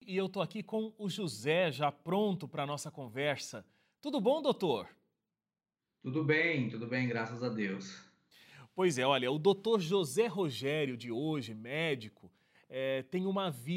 e eu tô aqui com o José já pronto para a nossa conversa. Tudo bom, doutor? Tudo bem, graças a Deus. Pois é, olha, o doutor José Rogério de hoje, médico, tem uma vida